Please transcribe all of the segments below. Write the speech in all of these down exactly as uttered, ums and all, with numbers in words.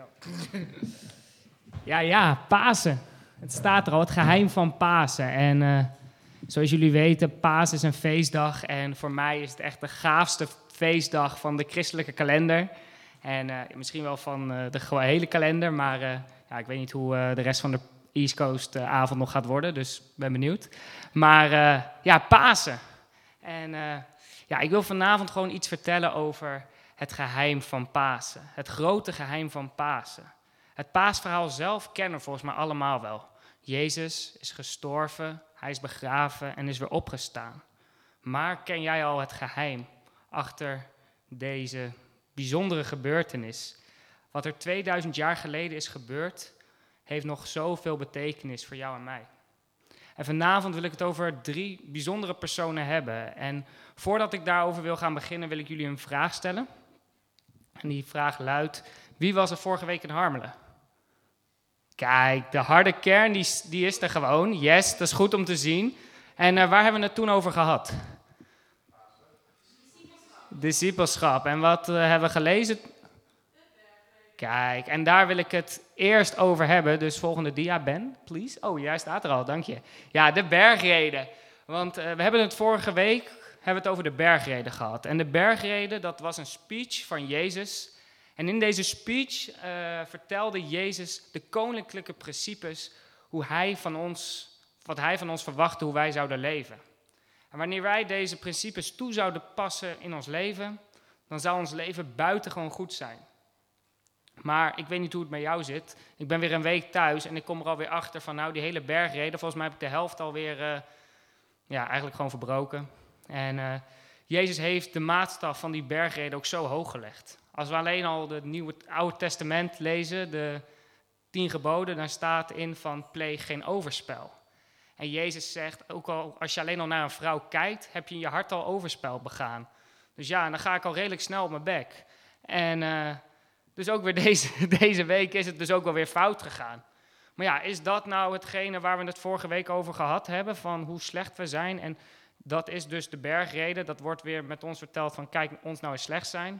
dankjewel. Ja, ja, Pasen. Het staat er al, het geheim van Pasen. En uh, zoals jullie weten, Pasen is een feestdag. En voor mij is het echt de gaafste feestdag van de christelijke kalender. En uh, misschien wel van uh, de hele kalender, maar uh, ja, ik weet niet hoe uh, de rest van de East Coast uh, avond nog gaat worden. Dus ben benieuwd. Maar uh, ja, Pasen. En uh, ja, ik wil vanavond gewoon iets vertellen over het geheim van Pasen. Het grote geheim van Pasen. Het paasverhaal zelf kennen we volgens mij allemaal wel. Jezus is gestorven, hij is begraven en is weer opgestaan. Maar ken jij al het geheim achter deze bijzondere gebeurtenis? Wat er tweeduizend jaar geleden is gebeurd, heeft nog zoveel betekenis voor jou en mij. En vanavond wil ik het over drie bijzondere personen hebben. En voordat ik daarover wil gaan beginnen, wil ik jullie een vraag stellen. En die vraag luidt: wie was er vorige week in Harmelen? Kijk, de harde kern die, die is er gewoon. Yes, dat is goed om te zien. En uh, waar hebben we het toen over gehad? Discipelschap. En wat uh, hebben we gelezen? Kijk, en daar wil ik het eerst over hebben. Dus volgende dia, Ben, please. Oh, jij staat er al, dank je. Ja, de bergreden. Want uh, we hebben het vorige week hebben we het over de bergreden gehad. En de bergreden, dat was een speech van Jezus. En in deze speech uh, vertelde Jezus de koninklijke principes, hoe hij van ons, wat hij van ons verwachtte, hoe wij zouden leven. En wanneer wij deze principes toe zouden passen in ons leven, dan zou ons leven buitengewoon goed zijn. Maar ik weet niet hoe het met jou zit. Ik ben weer een week thuis en ik kom er alweer achter van, nou, die hele bergreden, volgens mij heb ik de helft alweer, uh, ja, eigenlijk gewoon verbroken. En uh, Jezus heeft de maatstaf van die bergreden ook zo hoog gelegd. Als we alleen al het Nieuwe, het Oude Testament lezen, de tien geboden, dan staat in van pleeg geen overspel. En Jezus zegt, ook al als je alleen al naar een vrouw kijkt, heb je in je hart al overspel begaan. Dus ja, dan ga ik al redelijk snel op mijn bek. En uh, dus ook weer deze, deze week is het dus ook wel weer fout gegaan. Maar ja, is dat nou hetgene waar we het vorige week over gehad hebben, van hoe slecht we zijn? En dat is dus de bergreden, dat wordt weer met ons verteld van kijk, ons nou eens slecht zijn.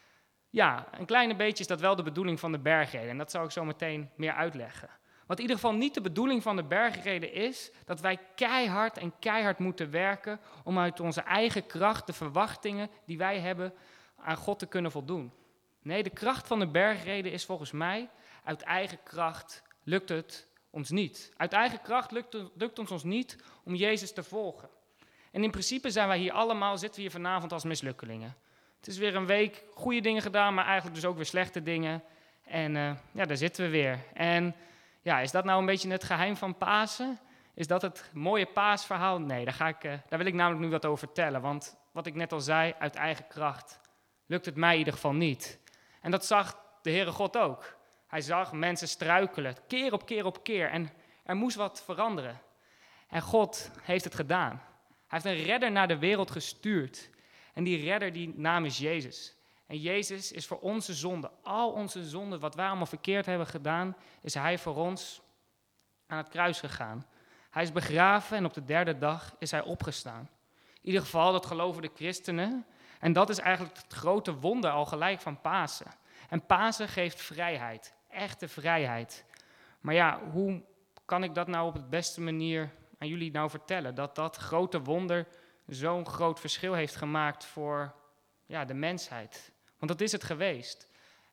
Ja, een kleine beetje is dat wel de bedoeling van de bergreden. En dat zal ik zo meteen meer uitleggen. Wat in ieder geval niet de bedoeling van de bergreden is, dat wij keihard en keihard moeten werken om uit onze eigen kracht de verwachtingen die wij hebben aan God te kunnen voldoen. Nee, de kracht van de bergreden is volgens mij, uit eigen kracht lukt het ons niet. Uit eigen kracht lukt het lukt ons, ons niet om Jezus te volgen. En in principe zijn wij hier allemaal, zitten we hier vanavond als mislukkelingen. Het is weer een week goede dingen gedaan, maar eigenlijk dus ook weer slechte dingen. En uh, ja, daar zitten we weer. En ja, is dat nou een beetje het geheim van Pasen? Is dat het mooie paasverhaal? Nee, daar, ga ik, uh, daar wil ik namelijk nu wat over vertellen. Want wat ik net al zei, uit eigen kracht lukt het mij in ieder geval niet. En dat zag de Heere God ook. Hij zag mensen struikelen, keer op keer op keer. En er moest wat veranderen. En God heeft het gedaan. Hij heeft een redder naar de wereld gestuurd. En die redder, die naam is Jezus. En Jezus is voor onze zonden, al onze zonden, wat wij allemaal verkeerd hebben gedaan, is hij voor ons aan het kruis gegaan. Hij is begraven en op de derde dag is hij opgestaan. In ieder geval, dat geloven de christenen. En dat is eigenlijk het grote wonder al gelijk van Pasen. En Pasen geeft vrijheid, echte vrijheid. Maar ja, hoe kan ik dat nou op de beste manier aan jullie nou vertellen? Dat dat grote wonder zo'n groot verschil heeft gemaakt voor ja, de mensheid. Want dat is het geweest.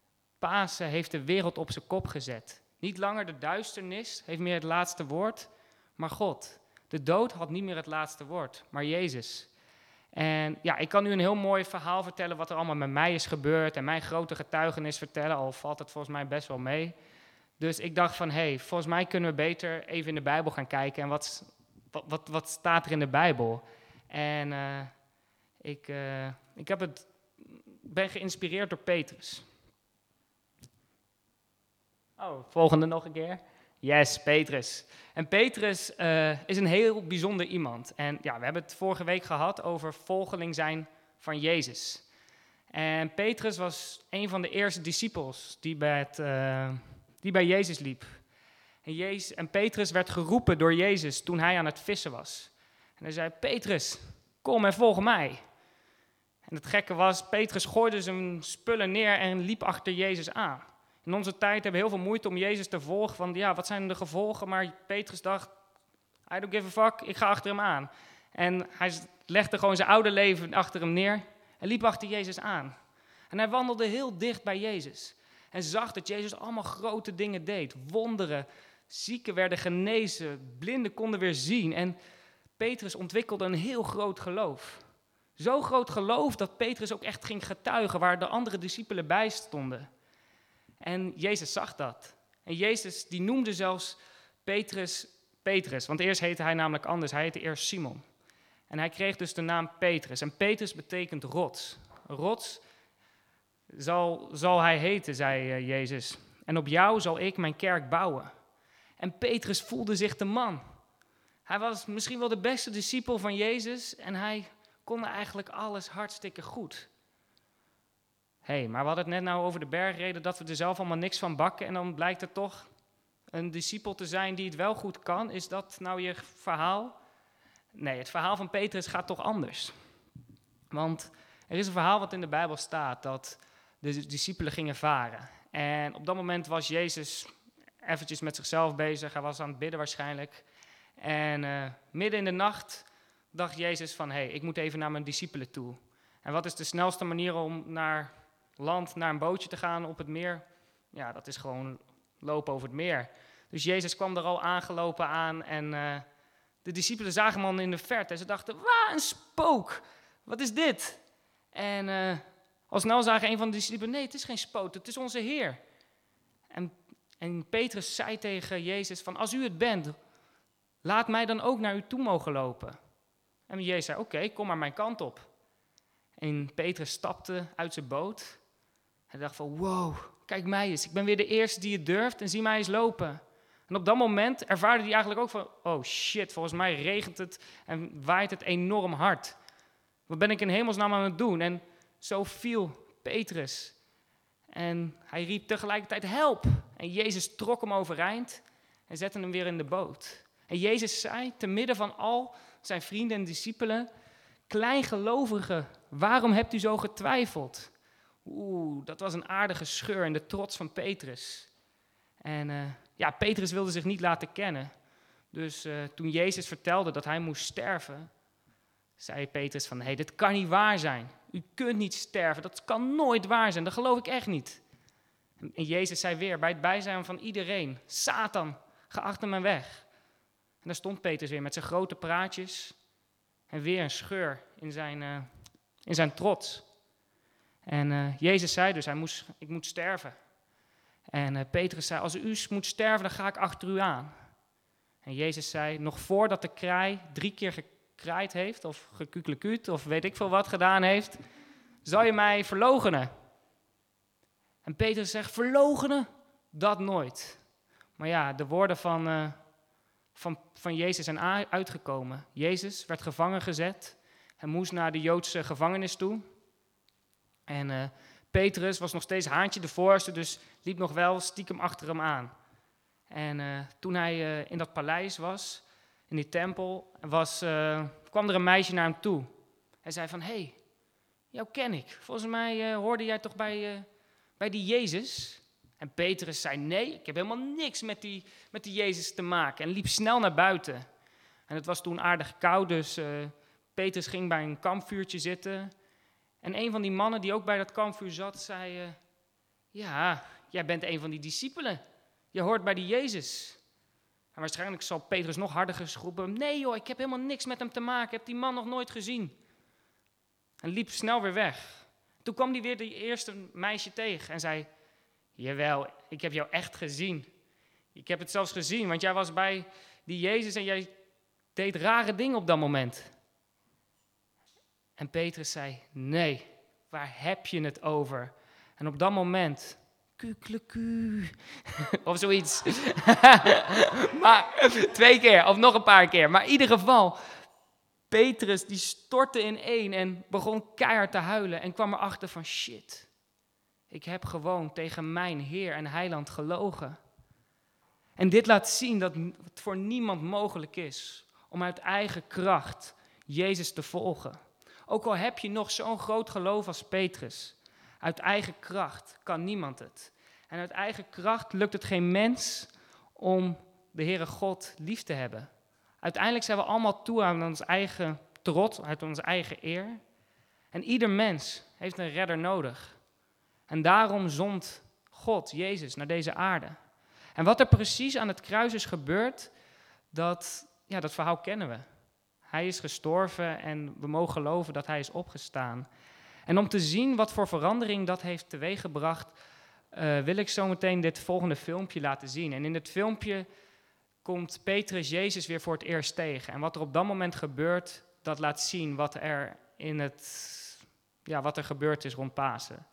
Pasen heeft de wereld op zijn kop gezet. Niet langer de duisternis heeft meer het laatste woord, maar God. De dood had niet meer het laatste woord, maar Jezus. En ja, ik kan u een heel mooi verhaal vertellen wat er allemaal met mij is gebeurd en mijn grote getuigenis vertellen, al valt het volgens mij best wel mee. Dus ik dacht van, hé, hey, volgens mij kunnen we beter even in de Bijbel gaan kijken en wat, wat, wat, wat staat er in de Bijbel? En uh, ik, uh, ik heb het, ben geïnspireerd door Petrus. Oh, volgende nog een keer. Yes, Petrus. En Petrus uh, is een heel bijzonder iemand. En ja, we hebben het vorige week gehad over volgeling zijn van Jezus. En Petrus was een van de eerste discipels die bij, het, uh, die bij Jezus liep. En, Jezus, en Petrus werd geroepen door Jezus toen hij aan het vissen was. En hij zei, Petrus, kom en volg mij. En het gekke was, Petrus gooide zijn spullen neer en liep achter Jezus aan. In onze tijd hebben we heel veel moeite om Jezus te volgen. Van ja, wat zijn de gevolgen? Maar Petrus dacht, I don't give a fuck, ik ga achter hem aan. En hij legde gewoon zijn oude leven achter hem neer en liep achter Jezus aan. En hij wandelde heel dicht bij Jezus. En zag dat Jezus allemaal grote dingen deed. Wonderen, zieken werden genezen, blinden konden weer zien. En Petrus ontwikkelde een heel groot geloof. Zo groot geloof dat Petrus ook echt ging getuigen waar de andere discipelen bij stonden. En Jezus zag dat. En Jezus die noemde zelfs Petrus Petrus, want eerst heette hij namelijk anders. Hij heette eerst Simon. En hij kreeg dus de naam Petrus. En Petrus betekent rots. Rots zal, zal hij heten, zei uh, Jezus. En op jou zal ik mijn kerk bouwen. En Petrus voelde zich de man. Hij was misschien wel de beste discipel van Jezus en hij kon eigenlijk alles hartstikke goed. Hé, hey, maar we hadden het net nou over de bergreden, dat we er zelf allemaal niks van bakken en dan blijkt het toch een discipel te zijn die het wel goed kan. Is dat nou je verhaal? Nee, het verhaal van Petrus gaat toch anders. Want er is een verhaal wat in de Bijbel staat, dat de discipelen gingen varen. En op dat moment was Jezus eventjes met zichzelf bezig, hij was aan het bidden waarschijnlijk. En uh, midden in de nacht dacht Jezus van, hé, hey, ik moet even naar mijn discipelen toe. En wat is de snelste manier om naar land, naar een bootje te gaan op het meer? Ja, dat is gewoon lopen over het meer. Dus Jezus kwam er al aangelopen aan en uh, de discipelen zagen hem al in de verte. En ze dachten, waar een spook, wat is dit? En uh, al snel zagen een van de discipelen, nee, het is geen spook, het is onze Heer. En, en Petrus zei tegen Jezus van, als u het bent, laat mij dan ook naar u toe mogen lopen. En Jezus zei, oké, okay, kom maar mijn kant op. En Petrus stapte uit zijn boot. Hij dacht van, wow, kijk mij eens. Ik ben weer de eerste die het durft en zie mij eens lopen. En op dat moment ervaarde hij eigenlijk ook van, oh shit, volgens mij regent het en waait het enorm hard. Wat ben ik in hemelsnaam aan het doen? En zo viel Petrus. En hij riep tegelijkertijd, help! En Jezus trok hem overeind en zette hem weer in de boot. En Jezus zei, te midden van al zijn vrienden en discipelen, kleingelovigen, waarom hebt u zo getwijfeld? Oeh, dat was een aardige scheur in de trots van Petrus. En uh, ja, Petrus wilde zich niet laten kennen. Dus uh, toen Jezus vertelde dat hij moest sterven, zei Petrus van, hé, hey, dit kan niet waar zijn. U kunt niet sterven, dat kan nooit waar zijn, dat geloof ik echt niet. En, en Jezus zei weer, bij het bijzijn van iedereen, Satan, ga achter me weg. En daar stond Petrus weer met zijn grote praatjes en weer een scheur in zijn, uh, in zijn trots. En uh, Jezus zei dus, hij moest, ik moet sterven. En uh, Petrus zei, als u moet sterven, dan ga ik achter u aan. En Jezus zei, nog voordat de kraai drie keer gekraaid heeft, of gekukelekuut, of weet ik veel wat gedaan heeft, zal je mij verloochenen. En Petrus zegt, verloochenen? Dat nooit. Maar ja, de woorden van, uh, van, van Jezus zijn uitgekomen. Jezus werd gevangen gezet en moest naar de Joodse gevangenis toe. En uh, Petrus was nog steeds haantje de voorste, dus liep nog wel stiekem achter hem aan. En uh, toen hij uh, in dat paleis was, in die tempel, was, uh, kwam er een meisje naar hem toe. Hij zei van, hé, hey, jou ken ik. Volgens mij uh, hoorde jij toch bij, uh, bij die Jezus? En Petrus zei, nee, ik heb helemaal niks met die, met die Jezus te maken. En liep snel naar buiten. En het was toen aardig koud, dus uh, Petrus ging bij een kampvuurtje zitten. En een van die mannen die ook bij dat kampvuur zat, zei, uh, ja, jij bent een van die discipelen. Je hoort bij die Jezus. En waarschijnlijk zal Petrus nog harder geschroepen, nee joh, ik heb helemaal niks met hem te maken, ik heb die man nog nooit gezien. En liep snel weer weg. Toen kwam hij weer de eerste meisje tegen en zei, jawel, ik heb jou echt gezien. Ik heb het zelfs gezien, want jij was bij die Jezus en jij deed rare dingen op dat moment. En Petrus zei, nee, waar heb je het over? En op dat moment, kukeleku, of zoiets. Maar twee keer, of nog een paar keer. Maar in ieder geval, Petrus die stortte in één en begon keihard te huilen. En kwam erachter van, shit, ik heb gewoon tegen mijn Heer en Heiland gelogen. En dit laat zien dat het voor niemand mogelijk is om uit eigen kracht Jezus te volgen. Ook al heb je nog zo'n groot geloof als Petrus, uit eigen kracht kan niemand het. En uit eigen kracht lukt het geen mens om de Heere God lief te hebben. Uiteindelijk zijn we allemaal toe aan ons eigen trots, uit onze eigen eer. En ieder mens heeft een redder nodig. En daarom zond God, Jezus, naar deze aarde. En wat er precies aan het kruis is gebeurd, dat, ja, dat verhaal kennen we. Hij is gestorven en we mogen geloven dat hij is opgestaan. En om te zien wat voor verandering dat heeft teweeggebracht, uh, wil ik zo meteen dit volgende filmpje laten zien. En in dit filmpje komt Petrus Jezus weer voor het eerst tegen. En wat er op dat moment gebeurt, dat laat zien wat er, in het, ja, wat er gebeurd is rond Pasen.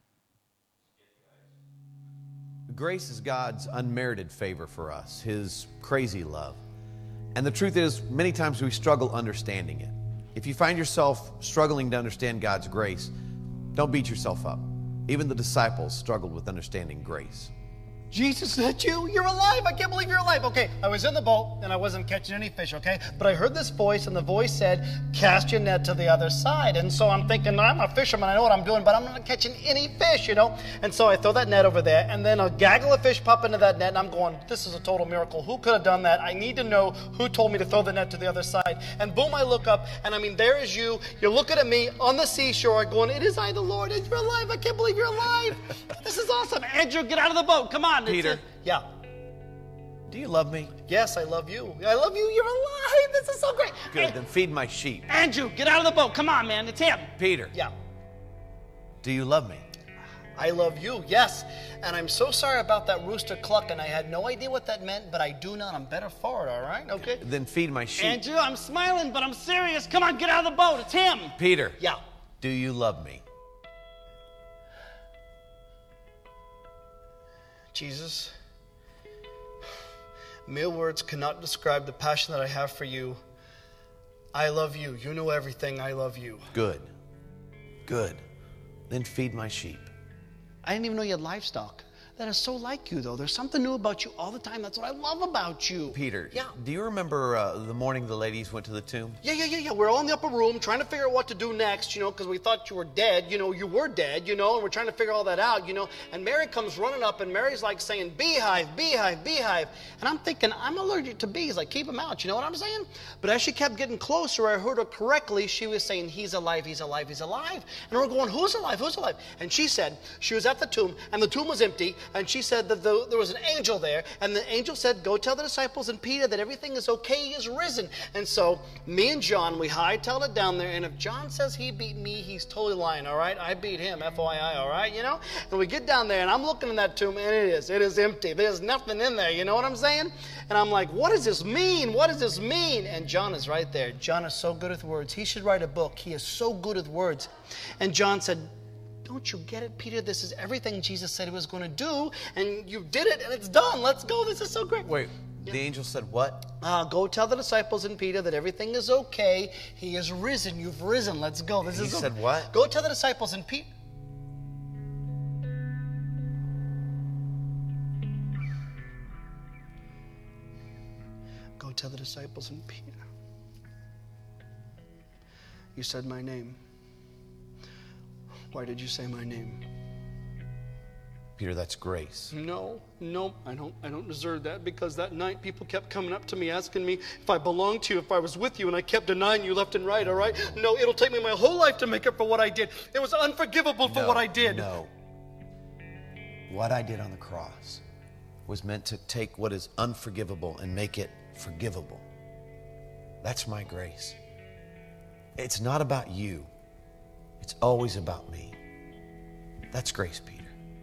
Grace is God's unmerited favor for us, His crazy love. And the truth is, many times we struggle understanding it. If you find yourself struggling to understand God's grace, don't beat yourself up. Even the disciples struggled with understanding grace. Jesus, is that you? You're alive. I can't believe you're alive. Okay, I was in the boat and I wasn't catching any fish, okay? But I heard this voice and the voice said, cast your net to the other side. And so I'm thinking, I'm a fisherman, I know what I'm doing, but I'm not catching any fish, you know? And so I throw that net over there and then a gaggle of fish pop into that net and I'm going, this is a total miracle. Who could have done that? I need to know who told me to throw the net to the other side. And boom, I look up and I mean, there is you. You're looking at me on the seashore going, it is I, the Lord, and you're alive. I can't believe you're alive. This is awesome. Andrew, get out of the boat. Come on. Peter. Yeah. Do you love me? Yes, I love you. I love you. You're alive. This is so great. Good, Hey, then feed my sheep. Andrew, get out of the boat. Come on, man. It's him. Peter, Yeah. do you love me? I love you. Yes. And I'm so sorry about that rooster clucking. I had no idea what that meant, but I do now. I'm better for it, all right? Okay? Then feed my sheep. Andrew, I'm smiling, but I'm serious. Come on, get out of the boat. It's him. Peter, Yeah. do you love me? Jesus, mere words cannot describe the passion that I have for you. I love you. You know everything. I love you. Good. Good. Then feed my sheep. I didn't even know you had livestock. That is so like you, though. There's something new about you all the time. That's what I love about you. Peter, Yeah. do you remember uh, the morning the ladies went to the tomb? Yeah, yeah, yeah, yeah. We're all in the upper room trying to figure out what to do next, you know, because we thought you were dead. You know, you were dead, you know, and we're trying to figure all that out, you know. And Mary comes running up, and Mary's like saying, beehive, beehive, beehive. And I'm thinking, I'm allergic to bees. Like, keep them out, you know what I'm saying? But as she kept getting closer, I heard her correctly. She was saying, he's alive, he's alive, he's alive. And we're going, who's alive, who's alive? And she said, she was at the tomb, and the tomb was empty, and she said that the, there was an angel there, and the angel said, go tell the disciples and Peter that everything is okay, he is risen. And so me and John, we hightailed it down there, and if John says he beat me, he's totally lying, all right? I beat him, F Y I, all right, you know? And we get down there, and I'm looking in that tomb, and it is, it is empty. There's nothing in there, you know what I'm saying? And I'm like, what does this mean? What does this mean? And John is right there. John is so good with words. He should write a book. He is so good with words. And John said, don't you get it, Peter? This is everything Jesus said he was going to do, and you did it, and it's done. Let's go. This is so great. Wait, the angel said what? Uh, go tell the disciples and Peter that everything is okay. He is risen. You've risen. Let's go. This He is said what? Go tell the disciples and Peter. Go tell the disciples and Peter. You said my name. Why did you say my name? Peter, that's grace. No, no, I don't I don't deserve that, because that night people kept coming up to me asking me if I belonged to you, if I was with you, and I kept denying you left and right, all right? No, it'll take me my whole life to make up for what I did. It was unforgivable for No, what I did. No. What I did on the cross was meant to take what is unforgivable and make it forgivable. That's my grace. It's not about you. It's always about me. That's grace, Peter.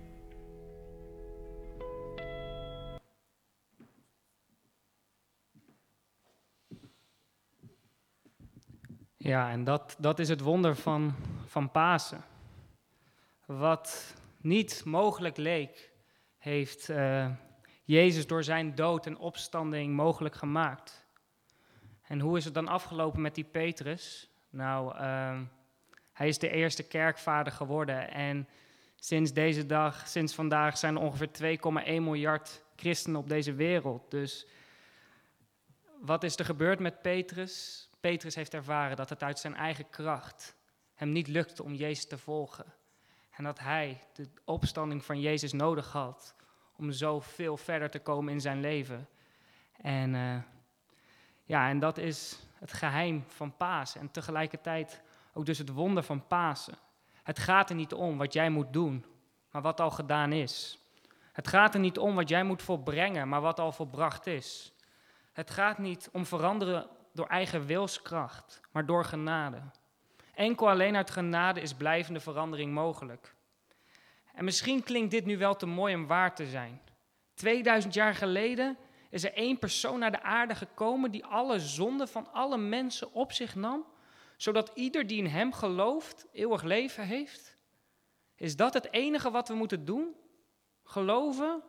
Ja, en dat, dat is het wonder van, van Pasen. Wat niet mogelijk leek, heeft uh, Jezus door zijn dood en opstanding mogelijk gemaakt. En hoe is het dan afgelopen met die Petrus? Nou, uh, hij is de eerste kerkvader geworden. En sinds deze dag, sinds vandaag, zijn er ongeveer twee komma één miljard christenen op deze wereld. Dus wat is er gebeurd met Petrus? Petrus heeft ervaren dat het uit zijn eigen kracht hem niet lukte om Jezus te volgen. En dat hij de opstanding van Jezus nodig had om zo veel verder te komen in zijn leven. En, uh, ja, en dat is het geheim van Pasen en tegelijkertijd ook dus het wonder van Pasen. Het gaat er niet om wat jij moet doen, maar wat al gedaan is. Het gaat er niet om wat jij moet volbrengen, maar wat al volbracht is. Het gaat niet om veranderen door eigen wilskracht, maar door genade. Enkel alleen uit genade is blijvende verandering mogelijk. En misschien klinkt dit nu wel te mooi om waar te zijn. tweeduizend jaar geleden is er één persoon naar de aarde gekomen die alle zonden van alle mensen op zich nam, zodat ieder die in hem gelooft eeuwig leven heeft. Is dat het enige wat we moeten doen? Geloven?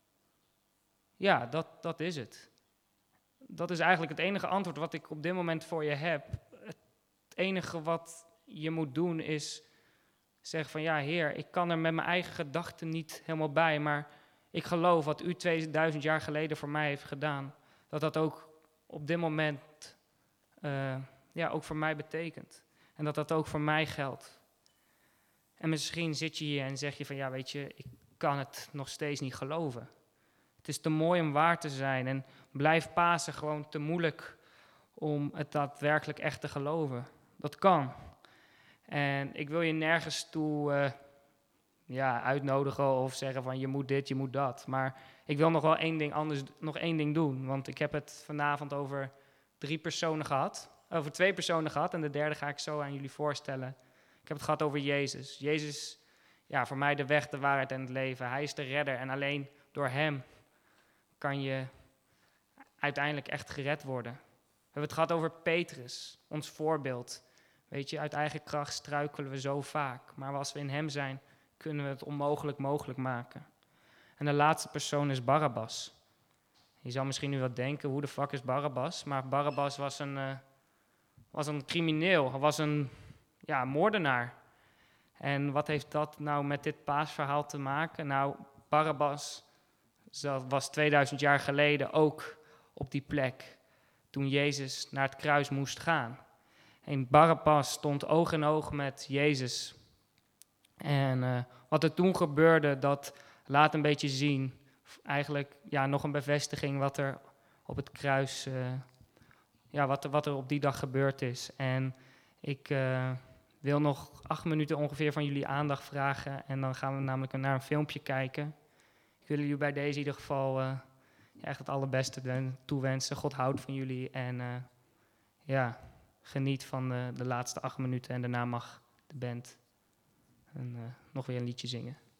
Ja, dat, dat is het. Dat is eigenlijk het enige antwoord wat ik op dit moment voor je heb. Het enige wat je moet doen is zeggen van ja, Heer, ik kan er met mijn eigen gedachten niet helemaal bij, maar ik geloof wat u tweeduizend jaar geleden voor mij heeft gedaan, dat dat ook op dit moment uh, ja, ook voor mij betekent. En dat dat ook voor mij geldt. En misschien zit je hier en zeg je van ja, weet je, ik kan het nog steeds niet geloven. Het is te mooi om waar te zijn en blijft Pasen gewoon te moeilijk om het daadwerkelijk echt te geloven. Dat kan. En ik wil je nergens toe uh, ja, uitnodigen of zeggen van je moet dit, je moet dat. Maar ik wil nog wel één ding anders, nog één ding doen. Want ik heb het vanavond over drie personen gehad. Over twee personen gehad en de derde ga ik zo aan jullie voorstellen. Ik heb het gehad over Jezus. Jezus, ja, voor mij de weg, de waarheid en het leven. Hij is de redder en alleen door hem kan je uiteindelijk echt gered worden. We hebben het gehad over Petrus, ons voorbeeld. Weet je, uit eigen kracht struikelen we zo vaak. Maar als we in hem zijn, kunnen we het onmogelijk mogelijk maken. En de laatste persoon is Barabbas. Je zou misschien nu wat denken, hoe de fuck is Barabbas? Maar Barabbas was een, uh, was een crimineel, hij was een ja, moordenaar. En wat heeft dat nou met dit paasverhaal te maken? Nou, Barabbas was tweeduizend jaar geleden ook op die plek toen Jezus naar het kruis moest gaan. En Barabbas stond oog in oog met Jezus. En uh, wat er toen gebeurde, dat laat een beetje zien, eigenlijk ja, nog een bevestiging wat er op het kruis, uh, ja, wat er, wat er op die dag gebeurd is. En ik uh, wil nog acht minuten ongeveer van jullie aandacht vragen en dan gaan we namelijk naar een filmpje kijken. Ik wil jullie bij deze in ieder geval uh, ja, echt het allerbeste toewensen. God houdt van jullie en uh, ja, geniet van de, de laatste acht minuten en daarna mag de band en, uh, nog weer een liedje zingen.